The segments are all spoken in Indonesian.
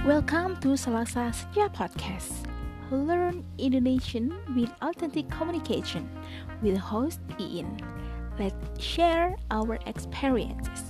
Welcome to Selasa Senja Podcast. Learn Indonesian with authentic communication with host Iin. Let's share our experiences.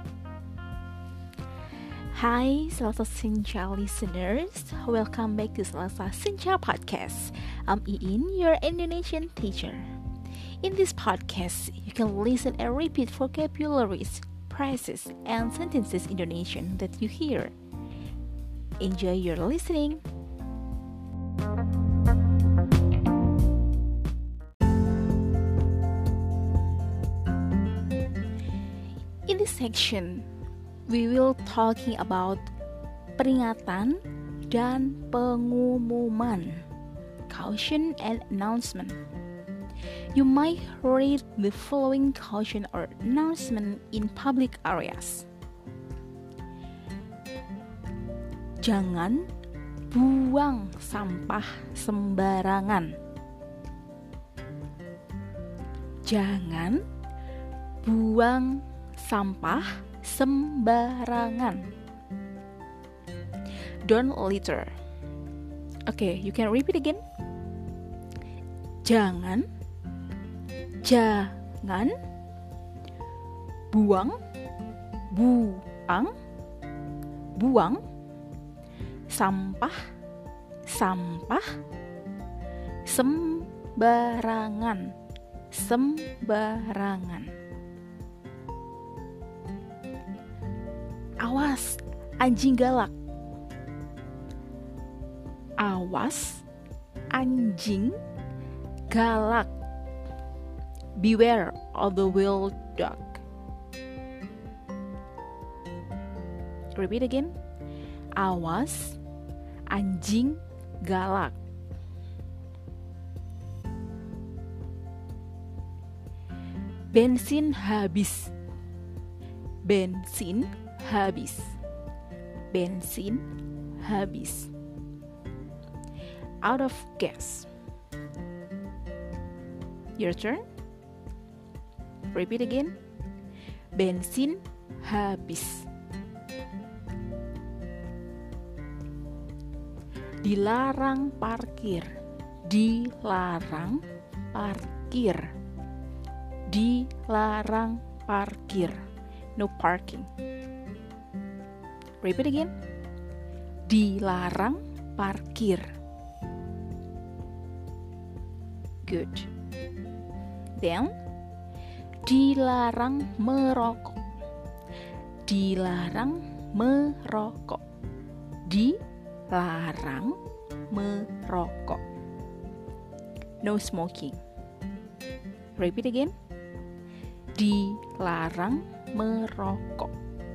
Hi Selasa Senja listeners, welcome back to Selasa Senja Podcast. I'm Iin, your Indonesian teacher. In this podcast, you can listen and repeat vocabularies, phrases, and sentences Indonesian that you hear. Enjoy your listening. In this section, we will talking about peringatan dan pengumuman, caution and announcement. You might read the following caution or announcement in public areas. Jangan buang sampah sembarangan. Jangan buang sampah sembarangan. Don't litter. Okay, you can repeat again. Jangan buang sampah sembarangan. Awas anjing galak. Awas anjing galak. Beware of the wild dog. Repeat again. Awas anjing galak. Bensin habis. Out of gas. Your turn. Repeat again. Bensin habis. Dilarang parkir. No parking. Repeat again. Dilarang parkir. Good. Then, dilarang merokok. Dilarang merokok. No smoking. Repeat again. Dilarang merokok.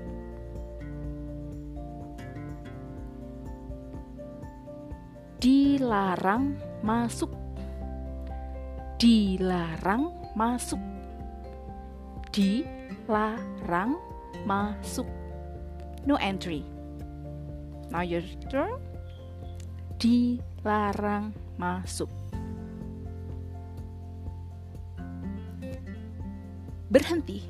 Dilarang masuk. Dilarang masuk. No entry. Now your turn. Dilarang masuk. Berhenti.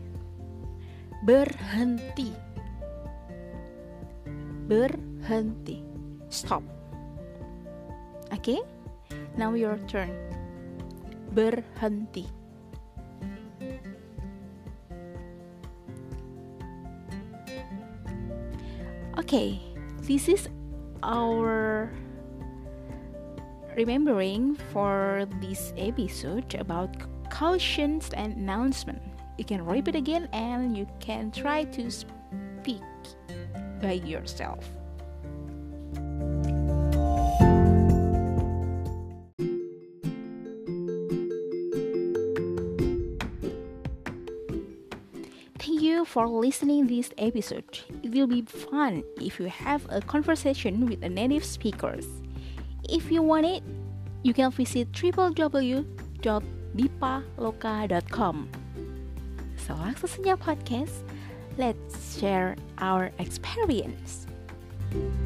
Stop. Okay? Now your turn. Berhenti. Okay, this is our remembering for this episode about cautions and announcement. You can repeat again and you can try to speak by yourself. Thank you for listening this episode. It will be fun if you have a conversation with a native speakers. If you want it, you can visit www.dipaloka.com. Selasa Senja Podcast, let's share our experience.